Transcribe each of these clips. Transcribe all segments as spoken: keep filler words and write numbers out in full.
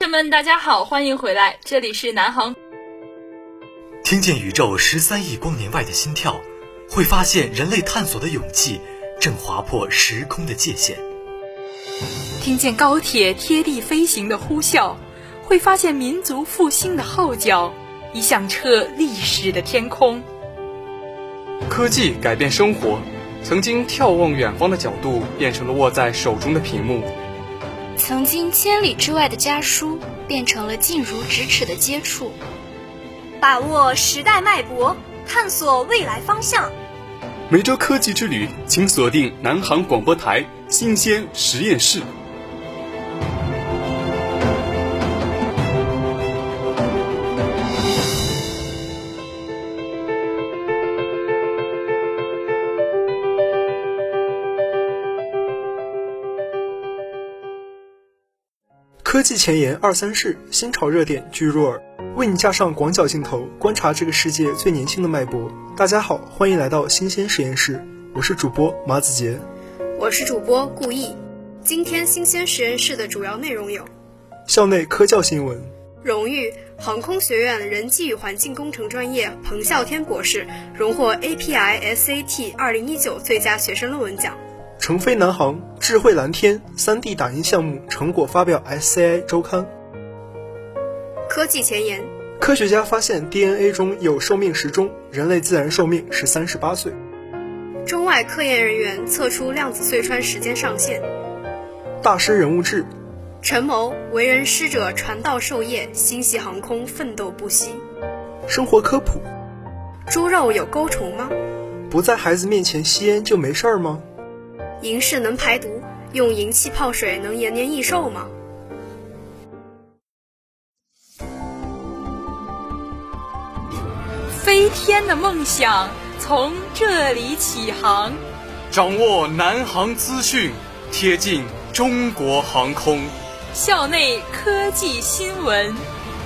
同学们大家好，欢迎回来，这里是南航。 听见宇宙十三亿光年外的心跳，会发现人类探索的勇气正划破时空的界限。 听见高铁贴地飞行的呼啸，会发现民族复兴的号角已响彻历史的天空。 科技改变生活，曾经眺望远方的角度变成了握在手中的屏幕， 曾经千里之外的家书变成了近如咫尺的接触。 把握时代脉搏，探索未来方向。 每周科技之旅，请锁定南航广播台新鲜实验室。 科技前沿二三事，新潮热点聚入耳，为你架上广角镜头，观察这个世界最年轻的脉搏。大家好，欢迎来到新鲜实验室，我是主播马子杰， 我是主播顾毅。今天新鲜实验室的主要内容有： 校内科教新闻， 荣誉航空学院人机与环境工程专业彭啸天博士荣获 A P I S A T 二零一九最佳学生论文奖。 成飞南航智慧蓝天 三 D 打印项目成果发表 S C I 周刊。 科技前沿， 科学家发现 D N A 中有寿命时钟，人类自然寿命是三十八岁。 中外科研人员测出量子隧穿时间上限。 大师人物志， 陈谋为人师者传道授业，星系航空奋斗不息。 生活科普， 猪肉有钩虫吗？ 不在孩子面前吸烟就没事儿吗？ 银饰能排毒，用银器泡水能延年益寿吗？ 飞天的梦想从这里起航， 掌握南航资讯，贴近中国航空。 校内科技新闻。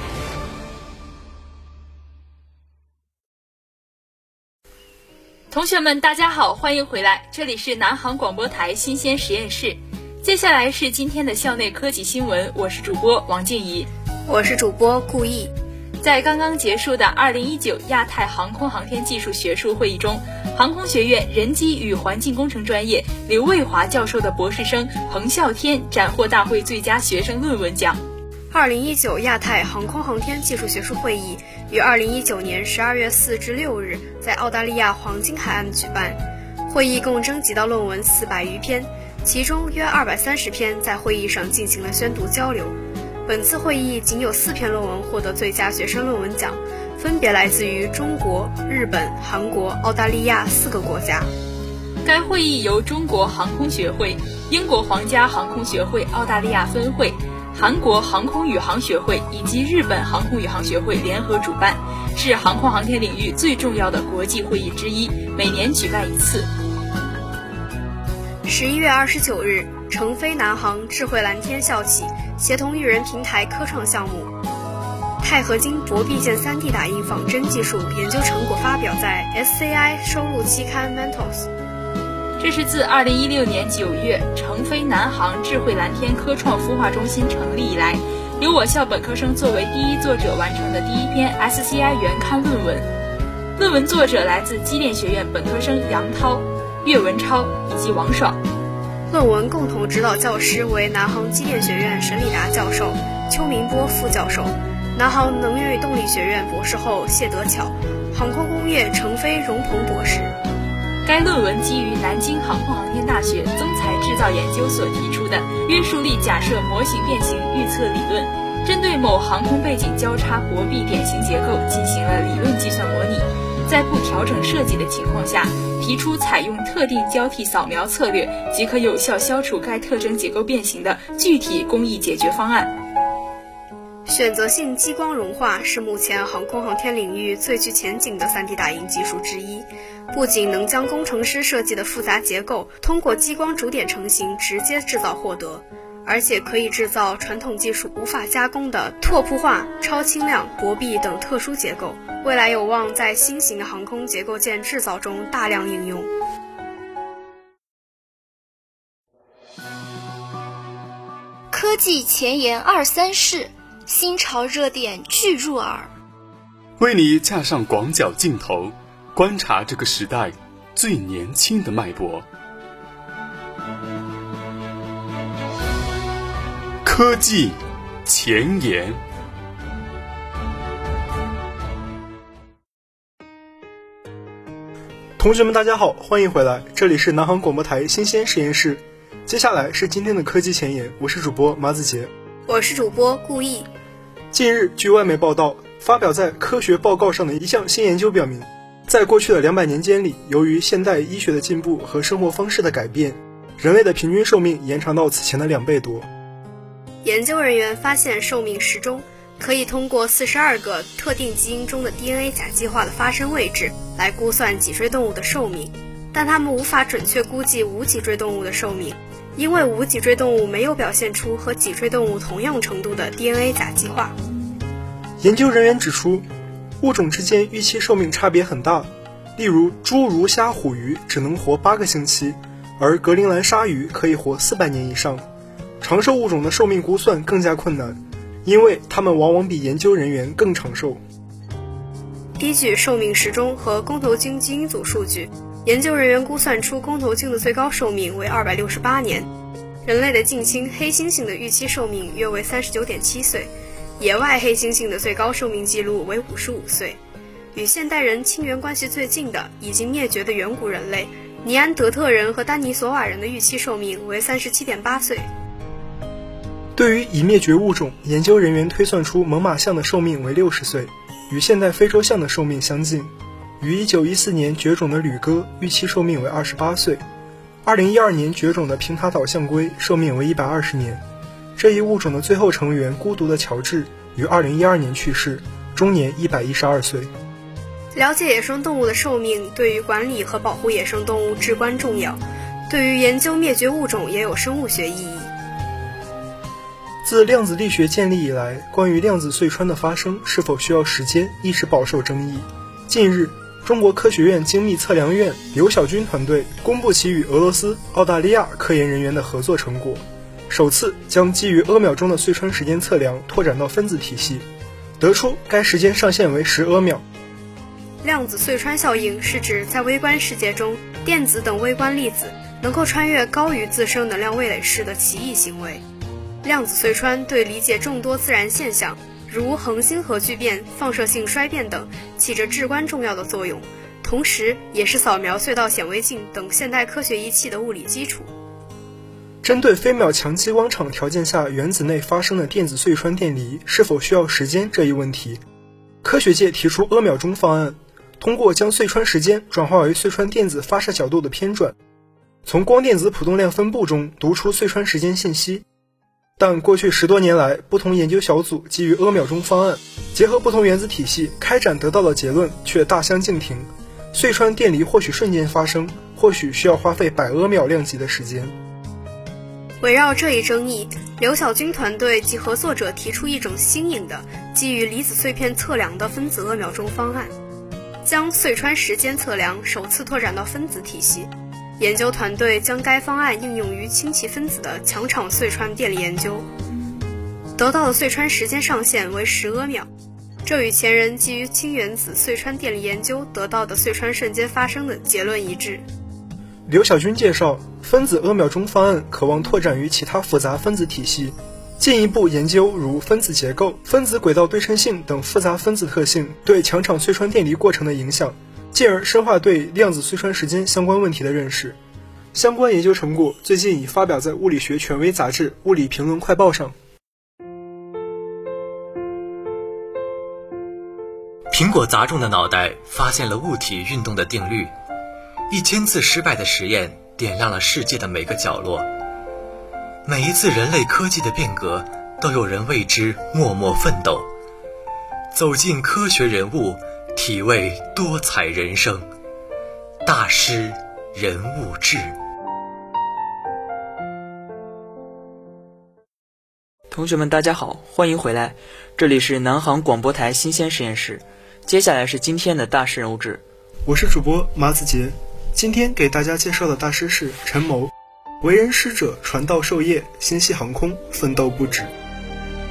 同学们大家好，欢迎回来，这里是南航广播台新鲜实验室。接下来是今天的校内科技新闻，我是主播王静怡， 我是主播顾毅。 在刚刚结束的二零一九亚太航空航天技术学术会议中，航空学院人机与环境工程专业刘卫华教授的博士生彭啸天斩获大会最佳学生论文奖。 二零一九亚太航空航天技术学术会议于二零一九年十二月四至六日在澳大利亚黄金海岸举办。会议共征集到论文四百余篇，其中约二百三十篇在会议上进行了宣读交流。本次会议仅有四篇论文获得最佳学生论文奖，分别来自于中国、日本、韩国、澳大利亚四个国家。 该会议由中国航空学会、英国皇家航空学会澳大利亚分会、韩国航空宇航学会以及日本航空宇航学会联合主办，是航空航天领域最重要的国际会议之一，每年举办一次。 十一月二十九日，成飞南航智慧蓝天校企协同育人平台科创项目钛合金薄壁件 三 D 打印仿真技术研究成果发表在 S C I 收录期刊 Mentos。 这是自二零一六年九月成飞南航智慧蓝天科创孵化中心成立以来，由我校本科生作为第一作者完成的第一篇 S C I 原刊论文。论文作者来自机电学院本科生杨涛、岳文超以及王爽。 论文共同指导教师为南航机电学院沈礼达教授、邱明波副教授，南航能源与动力学院博士后谢德巧，航空工业成飞荣鹏博士。 该论文基于南京航空航天大学增材制造研究所提出的约束力假设模型变形预测理论，针对某航空背景交叉薄壁典型结构进行了理论计算模拟，在不调整设计的情况下，提出采用特定交替扫描策略即可有效消除该特征结构变形的具体工艺解决方案。 选择性激光融化是目前航空航天领域最具前景的 三 D 打印技术之一，不仅能将工程师设计的复杂结构通过激光主点成型直接制造获得，而且可以制造传统技术无法加工的拓扑化、超轻量、薄壁等特殊结构，未来有望在新型的航空结构件制造中大量应用。 科技前沿二三事， 新潮热点俱入耳， 为你架上广角镜头，观察这个时代最年轻的脉搏。科技前沿。 同学们大家好，欢迎回来，这里是南航广播台新鲜实验室。接下来是今天的科技前沿，我是主播马子杰， 我是主播顾毅。 近日据外媒报道，发表在科学报告上的一项新研究表明，在过去的两百年间里，由于现代医学的进步和生活方式的改变，人类的平均寿命延长到此前的两倍多。 研究人员发现寿命时钟可以通过四十二个特定基因中的 D N A 甲基化的发生位置来估算脊椎动物的寿命，但他们无法准确估计无脊椎动物的寿命，因为无脊椎动物没有表现出和脊椎动物同样程度的 D N A 甲基化。 研究人员指出，物种之间预期寿命差别很大，例如猪、如虾、虎、鱼只能活八个星期，而格陵兰鲨鱼可以活四百年以上。长寿物种的寿命估算更加困难，因为它们往往比研究人员更长寿。 依据寿命时钟和公头鲸基因组数据，研究人员估算出公头鲸的最高寿命为二百六十八年，人类的近亲黑猩猩的预期寿命约为 三十九点七岁，野外黑猩猩的最高寿命记录为五十五岁。与现代人亲缘关系最近的已经灭绝的远古人类尼安德特人和丹尼索瓦人的预期寿命为 三十七点八岁。 对于已灭绝物种，研究人员推算出猛犸象的寿命为六十岁，与现代非洲象的寿命相近。于一九一四年绝种的旅鸽预期寿命为二十八岁，二零一二年绝种的平塔岛象龟寿命为一百二十年。这一物种的最后成员孤独的乔治于二零一二年去世，终年一百一十二岁。 了解野生动物的寿命对于管理和保护野生动物至关重要，对于研究灭绝物种也有生物学意义。 自量子力学建立以来，关于量子隧穿的发生是否需要时间一直饱受争议。近日，中国科学院精密测量院刘晓军团队公布其与俄罗斯、澳大利亚科研人员的合作成果，首次将基于阿秒钟的隧穿时间测量拓展到分子体系，得出该时间上限为十阿秒。 量子隧穿效应是指在微观世界中，电子等微观粒子能够穿越高于自身能量位垒式的奇异行为。量子隧穿对理解众多自然现象，如恒星核聚变、放射性衰变等，起着至关重要的作用，同时也是扫描隧道显微镜等现代科学仪器的物理基础。 针对飞秒强激光场条件下原子内发生的电子隧穿电离是否需要时间这一问题，科学界提出阿秒钟方案，通过将隧穿时间转化为隧穿电子发射角度的偏转，从光电子谱动量分布中读出隧穿时间信息。但过去十多年来，不同研究小组基于阿秒钟方案，结合不同原子体系开展得到的结论却大相径庭。隧穿电离或许瞬间发生，或许需要花费百阿秒量级的时间。 围绕这一争议，刘晓军团队及合作者提出一种新颖的基于离子碎片测量的分子阿秒钟方案，将隧穿时间测量首次拓展到分子体系。研究团队将该方案应用于氢气分子的强场隧穿电力研究，得到的隧穿时间上限为十阿秒，这与前人基于氢原子隧穿电力研究得到的隧穿瞬间发生的结论一致。 刘晓军介绍，分子阿秒钟方案可望拓展于其他复杂分子体系，进一步研究如分子结构、分子轨道对称性等复杂分子特性对强场隧穿电离过程的影响，进而深化对量子隧穿时间相关问题的认识。相关研究成果最近已发表在物理学权威杂志《物理评论快报》上。 苹果砸中的脑袋发现了物体运动的定律，一千次失败的实验点亮了世界的每个角落。每一次人类科技的变革，都有人为之默默奋斗。走进科学人物，体味多彩人生。大师人物志。 同学们大家好，欢迎回来，这里是南航广播台新鲜实验室，接下来是今天的大师人物志。 我是主播马子杰，今天给大家介绍的大师是陈谋，为人师者，传道授业，心系航空，奋斗不止。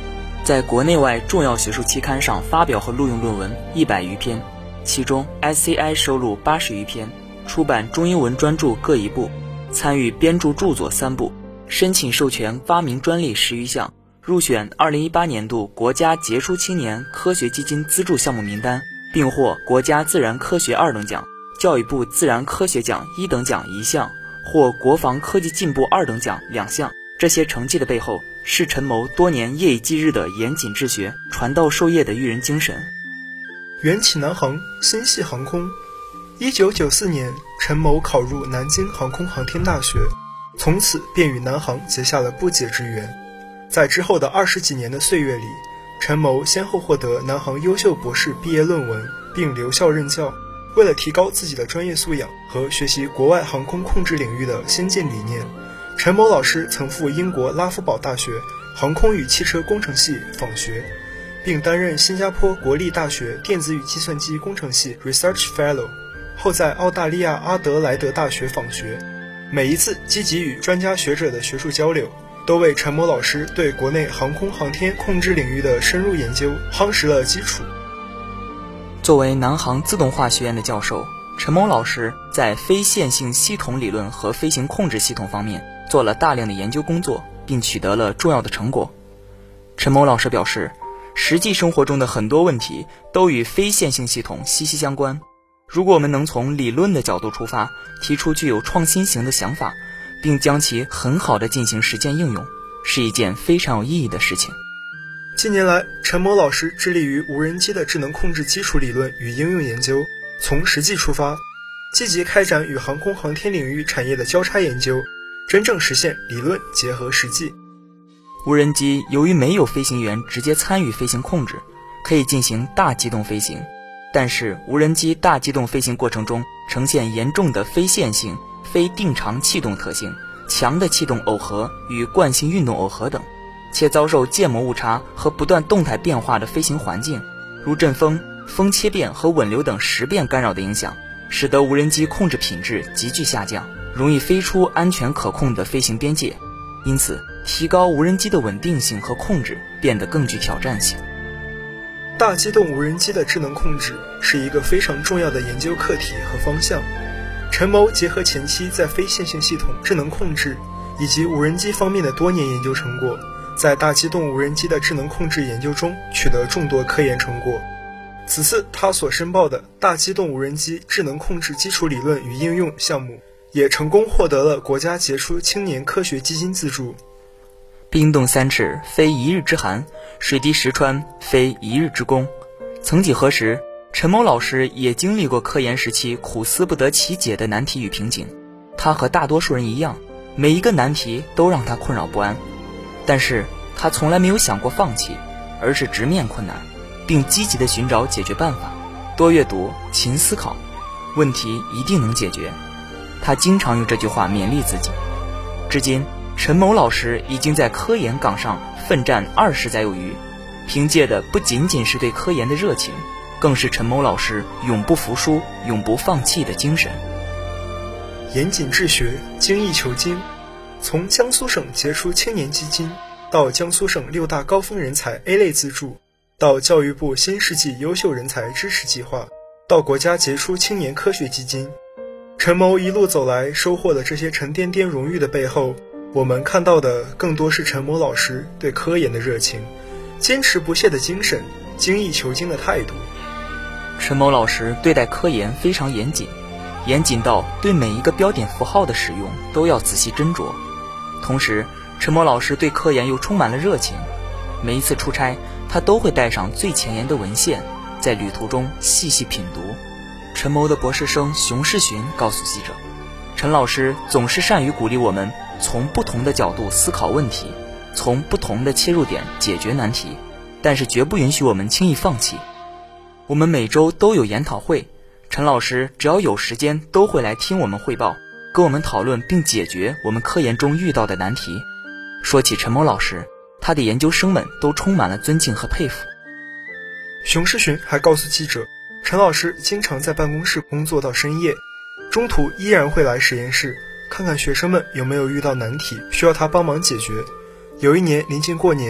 在国内外重要学术期刊上发表和录用论文一百余篇，其中 S C I 收录八十余篇，出版中英文专著各一部，参与编著著作三部，申请授权发明专利十余项，入选二零一八年度国家杰出青年科学基金资助项目名单，并获国家自然科学二等奖、教育部自然科学奖一等奖一项，获国防科技进步二等奖两项。这些成绩的背后，是陈谋多年夜以继日的严谨治学、传道授业的育人精神。 缘起南航，心系航空。一九九四年，陈谋考入南京航空航天大学，从此便与南航结下了不解之缘。在之后的二十几年的岁月里，陈谋先后获得南航优秀博士毕业论文，并留校任教。为了提高自己的专业素养和学习国外航空控制领域的先进理念，陈谋老师曾赴英国拉夫堡大学航空与汽车工程系访学，并担任新加坡国立大学电子与计算机工程系 Research Fellow， 后在澳大利亚阿德莱德大学访学。每一次积极与专家学者的学术交流，都为陈谋老师对国内航空航天控制领域的深入研究夯实了基础。 作为南航自动化学院的教授，陈谋老师在非线性系统理论和飞行控制系统方面做了大量的研究工作，并取得了重要的成果。陈谋老师表示，实际生活中的很多问题都与非线性系统息息相关。如果我们能从理论的角度出发，提出具有创新型的想法，并将其很好地进行实践应用，是一件非常有意义的事情。 近年来，陈谋老师致力于无人机的智能控制基础理论与应用研究，从实际出发，积极开展与航空航天领域产业的交叉研究，真正实现理论结合实际。 无人机由于没有飞行员直接参与飞行控制，可以进行大机动飞行，但是无人机大机动飞行过程中呈现严重的非线性、非定常气动特性、强的气动耦合与惯性运动耦合等，且遭受建模误差和不断动态变化的飞行环境，如阵风、风切变和稳流等时变干扰的影响，使得无人机控制品质急剧下降，容易飞出安全可控的飞行边界。因此，提高无人机的稳定性和控制变得更具挑战性。 大机动无人机的智能控制是一个非常重要的研究课题和方向。陈谋结合前期在非线性系统智能控制以及无人机方面的多年研究成果，在大机动无人机的智能控制研究中取得众多科研成果。此次他所申报的大机动无人机智能控制基础理论与应用项目，也成功获得了国家杰出青年科学基金资助。 冰冻三尺非一日之寒，水滴石穿非一日之功。曾几何时，陈谋老师也经历过科研时期苦思不得其解的难题与瓶颈。他和大多数人一样，每一个难题都让他困扰不安，但是他从来没有想过放弃，而是直面困难，并积极地寻找解决办法，多阅读，勤思考，问题一定能解决。他经常用这句话勉励自己。至今，陈谋老师已经在科研岗上奋战二十载有余，凭借的不仅仅是对科研的热情，更是陈谋老师永不服输、永不放弃的精神。 严谨治学，精益求精，从江苏省杰出青年基金到江苏省六大高峰人才 A 类资助，到教育部新世纪优秀人才支持计划，到国家杰出青年科学基金，陈谋一路走来，收获了这些沉甸甸荣誉的背后，我们看到的更多是陈谋老师对科研的热情，坚持不懈的精神，精益求精的态度。 陈谋老师对待科研非常严谨，严谨到对每一个标点符号的使用都要仔细斟酌。同时，陈谋老师对科研又充满了热情，每一次出差，他都会带上最前沿的文献，在旅途中细细品读。陈谋的博士生熊世群告诉记者，陈老师总是善于鼓励我们从不同的角度思考问题，从不同的切入点解决难题，但是绝不允许我们轻易放弃。我们每周都有研讨会，陈老师只要有时间都会来听我们汇报，跟我们讨论并解决我们科研中遇到的难题。说起陈谋老师，他的研究生们都充满了尊敬和佩服。 熊世群还告诉记者，陈老师经常在办公室工作到深夜，中途依然会来实验室看看学生们有没有遇到难题需要他帮忙解决。有一年临近过年，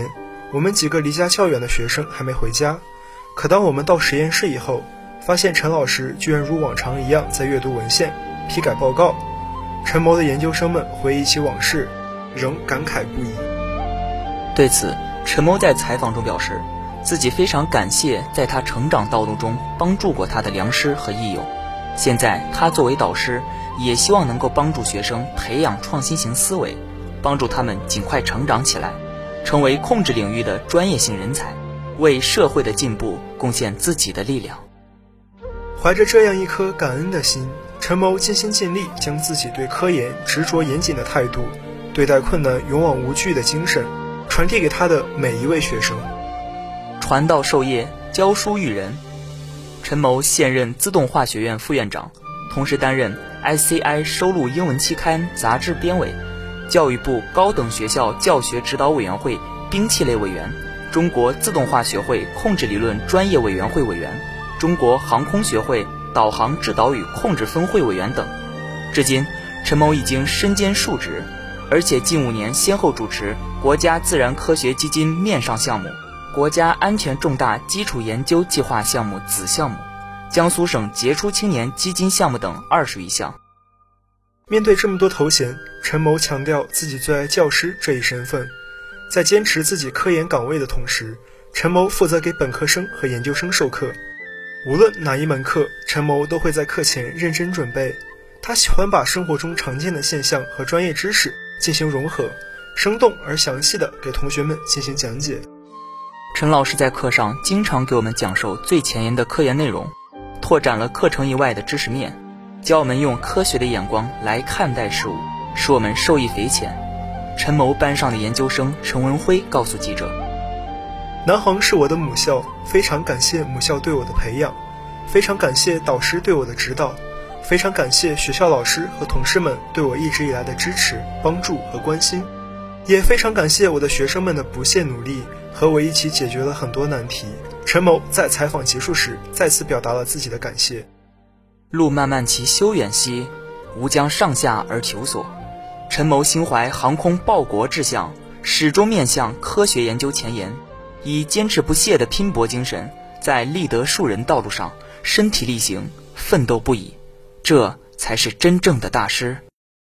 我们几个离家较远的学生还没回家，可当我们到实验室以后，发现陈老师居然如往常一样在阅读文献、批改报告。陈谋的研究生们回忆起往事，仍感慨不已。 对此，陈谋在采访中表示，自己非常感谢在他成长道路中帮助过他的良师和益友。现在他作为导师，也希望能够帮助学生培养创新型思维，帮助他们尽快成长起来，成为控制领域的专业性人才，为社会的进步贡献自己的力量。 怀着这样一颗感恩的心，陈谋尽心尽力将自己对科研执着严谨的态度，对待困难勇往无惧的精神传递给他的每一位学生。 传道授业，教书育人。陈谋现任自动化学院副院长，同时担任 I C I 收录英文期刊杂志编委，教育部高等学校教学指导委员会兵器类委员，中国自动化学会控制理论专业委员会委员，中国航空学会导航指导与控制分会委员等。至今，陈谋已经身兼数职，而且近五年先后主持国家自然科学基金面上项目、国家安全重大基础研究计划项目子项目、江苏省杰出青年基金项目等二十余项。 面对这么多头衔，陈谋强调自己最爱教师这一身份。在坚持自己科研岗位的同时，陈谋负责给本科生和研究生授课。无论哪一门课，陈谋都会在课前认真准备。他喜欢把生活中常见的现象和专业知识进行融合，生动而详细地给同学们进行讲解。 陈老师在课上经常给我们讲授最前沿的科研内容，拓展了课程以外的知识面，教我们用科学的眼光来看待事物，使我们受益匪浅。陈谋班上的研究生陈文辉告诉记者， 南航是我的母校，非常感谢母校对我的培养，非常感谢导师对我的指导，非常感谢学校老师和同事们对我一直以来的支持、帮助和关心，也非常感谢我的学生们的不懈努力，和我一起解决了很多难题。陈谋在采访结束时再次表达了自己的感谢。 路漫漫其修远兮，吾将上下而求索。陈谋心怀航空报国志向，始终面向科学研究前沿，以坚持不懈的拼搏精神，在立德树人道路上身体力行，奋斗不已，这才是真正的大师。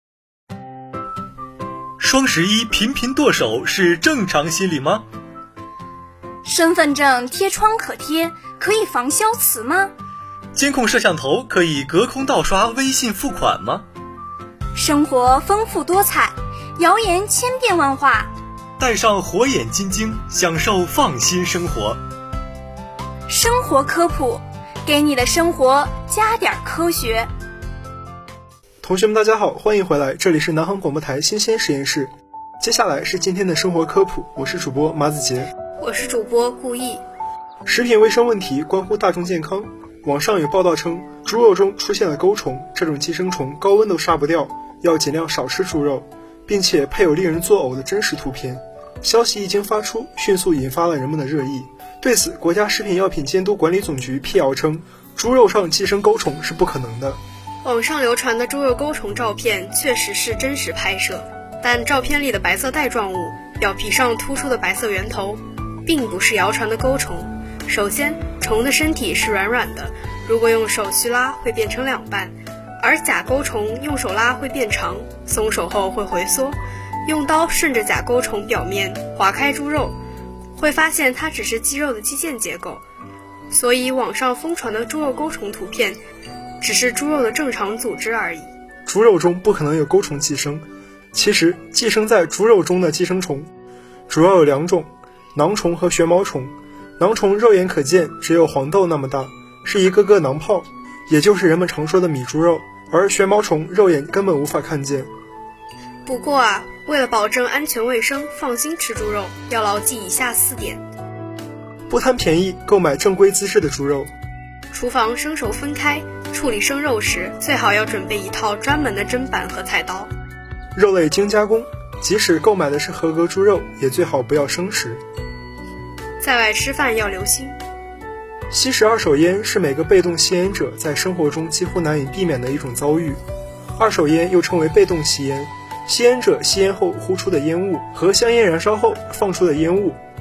双十一频频剁手是正常心理吗？ 身份证贴窗可贴，可以防消磁吗？ 监控摄像头可以隔空盗刷微信付款吗？ 生活丰富多彩，谣言千变万化。 戴上火眼金睛，享受放心生活。 生活科普，给你的生活加点科学。 同学们大家好，欢迎回来，这里是南航广播台新鲜实验室。接下来是今天的生活科普，我是主播马子杰， 我是主播顾毅。 食品卫生问题关乎大众健康，网上有报道称猪肉中出现了钩虫，这种寄生虫高温都杀不掉，要尽量少吃猪肉，并且配有令人作呕的真实图片。消息一经发出，迅速引发了人们的热议。对此，国家食品药品监督管理总局辟谣称，猪肉上寄生钩虫是不可能的。 网上流传的猪肉钩虫照片确实是真实拍摄，但照片里的白色带状物，表皮上突出的白色圆头，并不是谣传的钩虫。首先，虫的身体是软软的，如果用手去拉会变成两半，而假钩虫用手拉会变长，松手后会回缩。用刀顺着假钩虫表面划开猪肉，会发现它只是肌肉的肌腱结构，所以网上疯传的猪肉钩虫图片只是猪肉的正常组织而已。 猪肉中不可能有钩虫寄生，其实寄生在猪肉中的寄生虫主要有两种，囊虫和旋毛虫。囊虫肉眼可见，只有黄豆那么大，是一个个囊泡，也就是人们常说的米猪肉，而旋毛虫肉眼根本无法看见。 不过啊，为了保证安全卫生，放心吃猪肉，要牢记以下四点： 不贪便宜，购买正规资质的猪肉。 厨房生熟分开，处理生肉时最好要准备一套专门的砧板和菜刀。 肉类精加工，即使购买的是合格猪肉，也最好不要生食。 在外吃饭要留心。 吸食二手烟是每个被动吸烟者在生活中几乎难以避免的一种遭遇。二手烟又称为被动吸烟，吸烟者吸烟后呼出的烟雾和香烟燃烧后放出的烟雾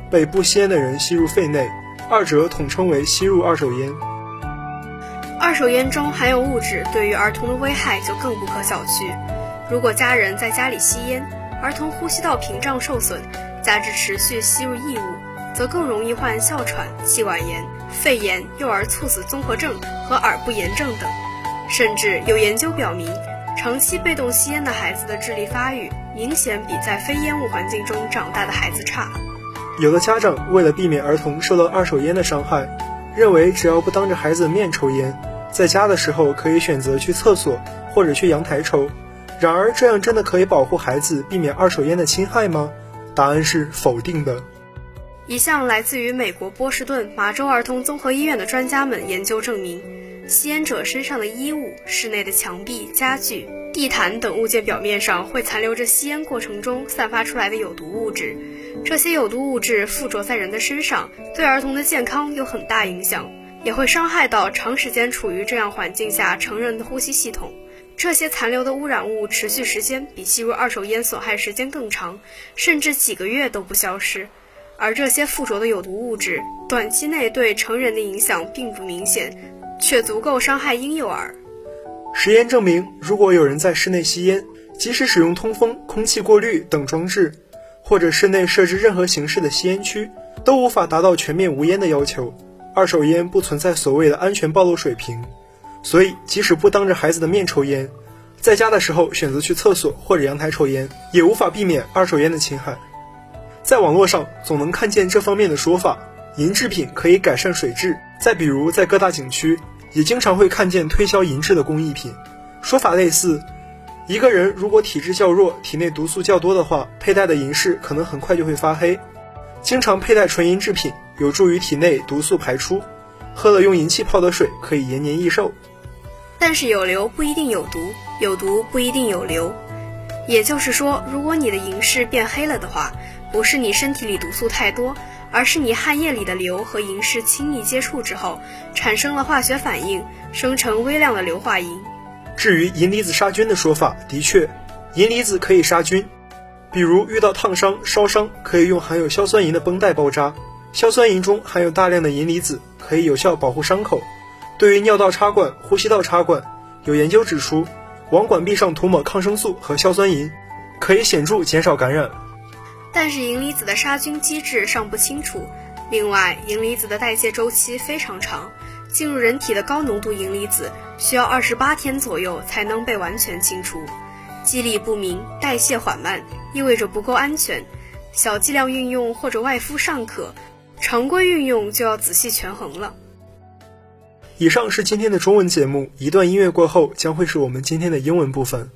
被不吸烟的人吸入肺内，二者统称为吸入二手烟。 二手烟中含有物质对于儿童的危害就更不可小觑。如果家人在家里吸烟，儿童呼吸道屏障受损，加之持续吸入异物，则更容易患哮喘、气管炎、肺炎、幼儿猝死综合症和耳部炎症等。甚至有研究表明，长期被动吸烟的孩子的智力发育明显比在非烟雾环境中长大的孩子差。 有的家长为了避免儿童受到二手烟的伤害，认为只要不当着孩子的面抽烟，在家的时候可以选择去厕所或者去阳台抽。然而这样真的可以保护孩子避免二手烟的侵害吗？答案是否定的。 一项来自于美国波士顿麻州儿童综合医院的专家们研究证明，吸烟者身上的衣物、室内的墙壁、家具、地毯等物件表面上会残留着吸烟过程中散发出来的有毒物质。这些有毒物质附着在人的身上，对儿童的健康有很大影响，也会伤害到长时间处于这样环境下成人的呼吸系统。这些残留的污染物持续时间比吸入二手烟损害时间更长，甚至几个月都不消失。而这些附着的有毒物质短期内对成人的影响并不明显，却足够伤害婴幼儿。 实验证明，如果有人在室内吸烟，即使使用通风、空气过滤等装置，或者室内设置任何形式的吸烟区，都无法达到全面无烟的要求。二手烟不存在所谓的安全暴露水平，所以即使不当着孩子的面抽烟，在家的时候选择去厕所或者阳台抽烟，也无法避免二手烟的侵害。在网络上总能看见这方面的说法，银制品可以改善水质，再比如在各大景区也经常会看见推销银质的工艺品，说法类似，一个人如果体质较弱，体内毒素较多的话，佩戴的银饰可能很快就会发黑。经常佩戴纯银制品有助于体内毒素排出，喝了用银器泡的水可以延年益寿。 但是有硫不一定有毒，有毒不一定有硫。也就是说，如果你的银饰变黑了的话，不是你身体里毒素太多，而是你汗液里的硫和银饰亲密接触之后，产生了化学反应，生成微量的硫化银。 至于银离子杀菌的说法，的确，银离子可以杀菌，比如遇到烫伤、烧伤，可以用含有硝酸银的绷带包扎，硝酸银中含有大量的银离子，可以有效保护伤口。对于尿道插管、呼吸道插管，有研究指出，往管壁上涂抹抗生素和硝酸银，可以显著减少感染。 但是银离子的杀菌机制尚不清楚，另外银离子的代谢周期非常长，进入人体的高浓度银离子需要二十八天左右才能被完全清除，机理不明，代谢缓慢，意味着不够安全，小剂量运用或者外敷尚可，常规运用就要仔细权衡了。 以上是今天的中文节目，一段音乐过后将会是我们今天的英文部分。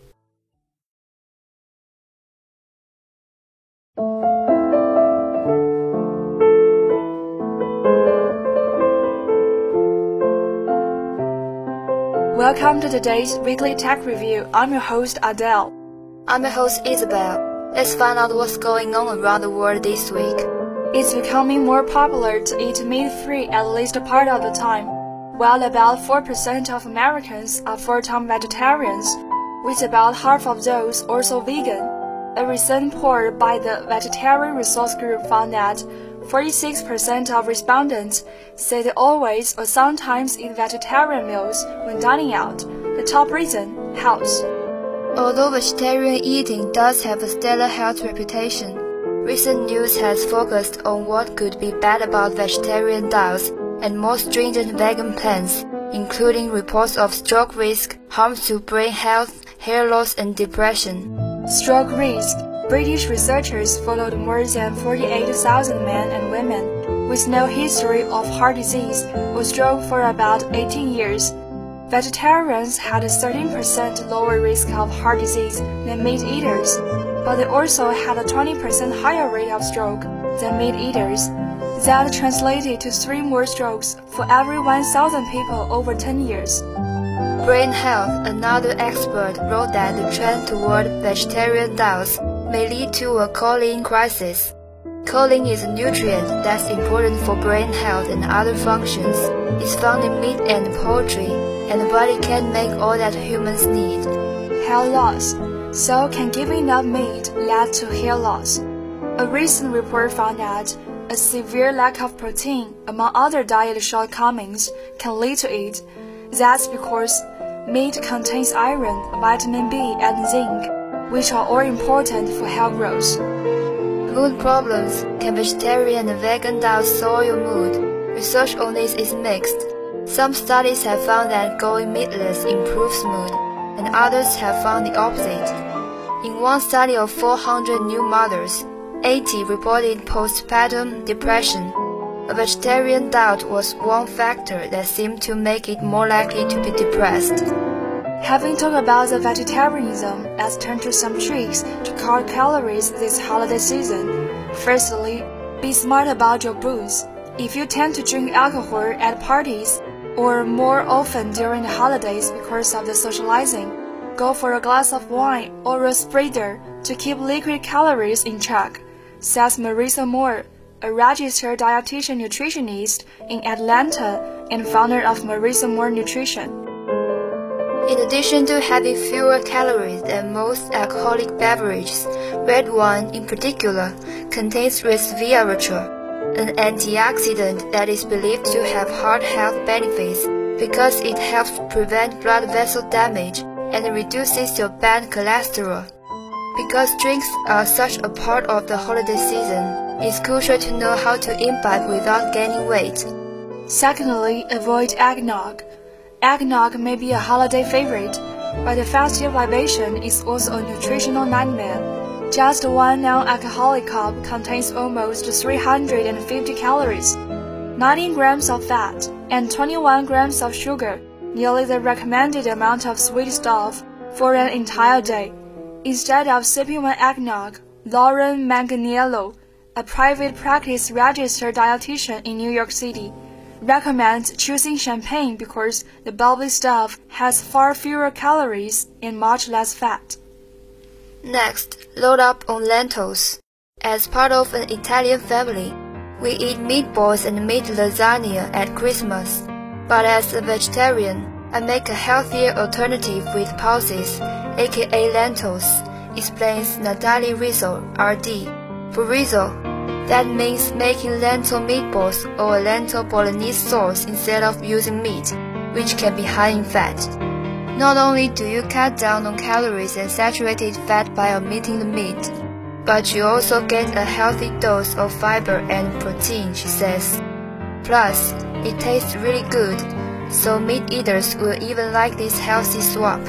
Welcome to today's Weekly Tech Review. I'm your host, Adele. I'm your host, Isabel. Let's find out what's going on around the world this week. It's becoming more popular to eat meat-free at least a part of the time, while about four percent of Americans are full-time vegetarians, with about half of those also vegan. A recent poll by the Vegetarian Resource Group found that forty-six percent of respondents say they always or sometimes eat vegetarian meals when dining out. The top reason, health. Although vegetarian eating does have a stellar health reputation, recent news has focused on what could be bad about vegetarian diets and more stringent vegan plans, including reports of stroke risk, harm to brain health, hair loss, and depression. Stroke risk. British researchers followed more than forty-eight thousand men and women with no history of heart disease or stroke for about eighteen years. Vegetarians had a thirteen percent lower risk of heart disease than meat eaters, but they also had a twenty percent higher rate of stroke than meat eaters. That translated to three more strokes for every one thousand people over ten years. Brain Health, another expert, wrote that the trend toward vegetarian diets may lead to a choline crisis. Choline is a nutrient that's important for brain health and other functions. It's found in meat and poultry, and the body can't make all that humans need. Hair loss. So can giving up meat lead to hair loss? A recent report found that a severe lack of protein, among other diet shortcomings, can lead to it. That's because meat contains iron, vitamin B, and zinc, which are all important for hair growth. Mood problems. Can vegetarian and vegan diets soil your mood? Research on this is mixed. Some studies have found that going meatless improves mood, and others have found the opposite. In one study of four hundred new mothers, eighty reported postpartum depression. A vegetarian diet was one factor that seemed to make it more likely to be depressed. Having talked about the vegetarianism, let's turn to some tricks to cut calories this holiday season. Firstly, be smart about your booze. If you tend to drink alcohol at parties or more often during the holidays because of the socializing, go for a glass of wine or a spreader to keep liquid calories in check, says Marissa Moore, a registered dietitian nutritionist in Atlanta and founder of Marissa Moore Nutrition. In addition to having fewer calories than most alcoholic beverages, red wine in particular contains resveratrol, an antioxidant that is believed to have heart health benefits because it helps prevent blood vessel damage and reduces your bad cholesterol. Because drinks are such a part of the holiday season, it's crucial to know how to imbibe without gaining weight. Secondly, avoid eggnog. Eggnog may be a holiday favorite, but the festive libation is also a nutritional nightmare. Just one non-alcoholic cup contains almost three hundred fifty calories, nineteen grams of fat, and twenty-one grams of sugar, nearly the recommended amount of sweet stuff for an entire day. Instead of sipping one eggnog, Lauren Manganiello, a private practice registered dietitian in New York City, recommends choosing champagne because the bubbly stuff has far fewer calories and much less fat. Next, load up on lentils. As part of an Italian family, we eat meatballs and meat lasagna at Christmas. But as a vegetarian, I make a healthier alternative with pulses, aka lentils, explains Natalie Rizzo, R D. For Rizzo, that means making lentil meatballs or a lentil bolognese sauce instead of using meat, which can be high in fat. Not only do you cut down on calories and saturated fat by omitting the meat, but you also get a healthy dose of fiber and protein, she says. Plus, it tastes really good, so meat eaters will even like this healthy swap.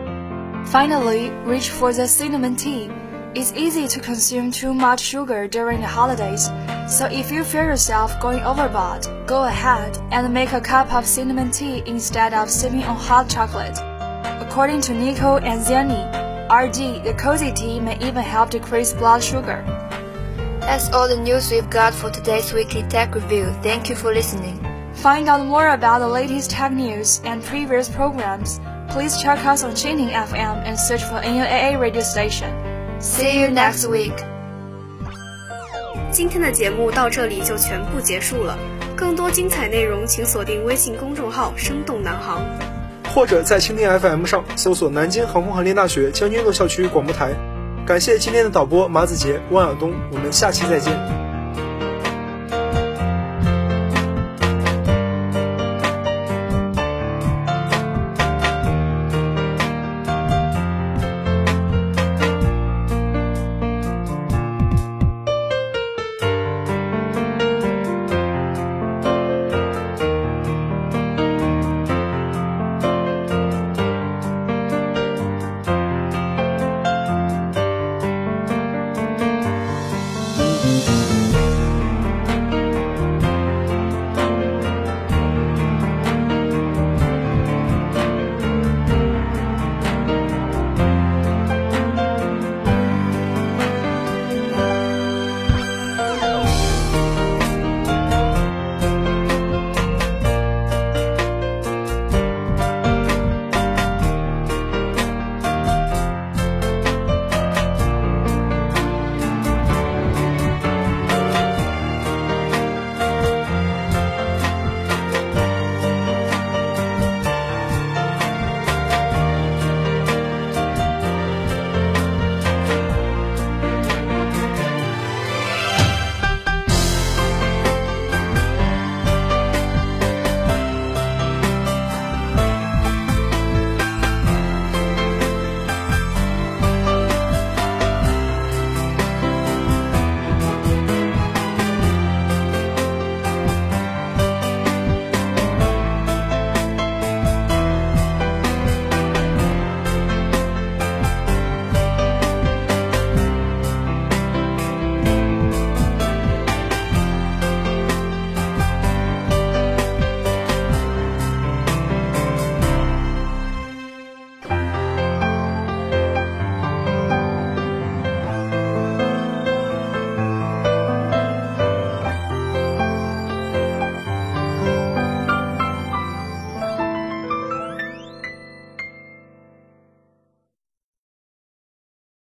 Finally, reach for the cinnamon tea. It's easy to consume too much sugar during the holidays, so if you feel yourself going overboard, go ahead and make a cup of cinnamon tea instead of sipping on hot chocolate. According to Nico and Zenny, R D, the cozy tea may even help decrease blood sugar. That's all the news we've got for today's weekly tech review. Thank you for listening. Find out more about the latest tech news and previous programs. Please check us on Chinning F M and search for N U A A radio station. See you next week. 今天的节目到这里就全部结束了。更多精彩内容，请锁定微信公众号“生动南航”， 或者在蜻蜓 F M 上搜索南京航空航天大学将军路校区广播台。感谢今天的导播马子杰、汪晓东，我们下期再见。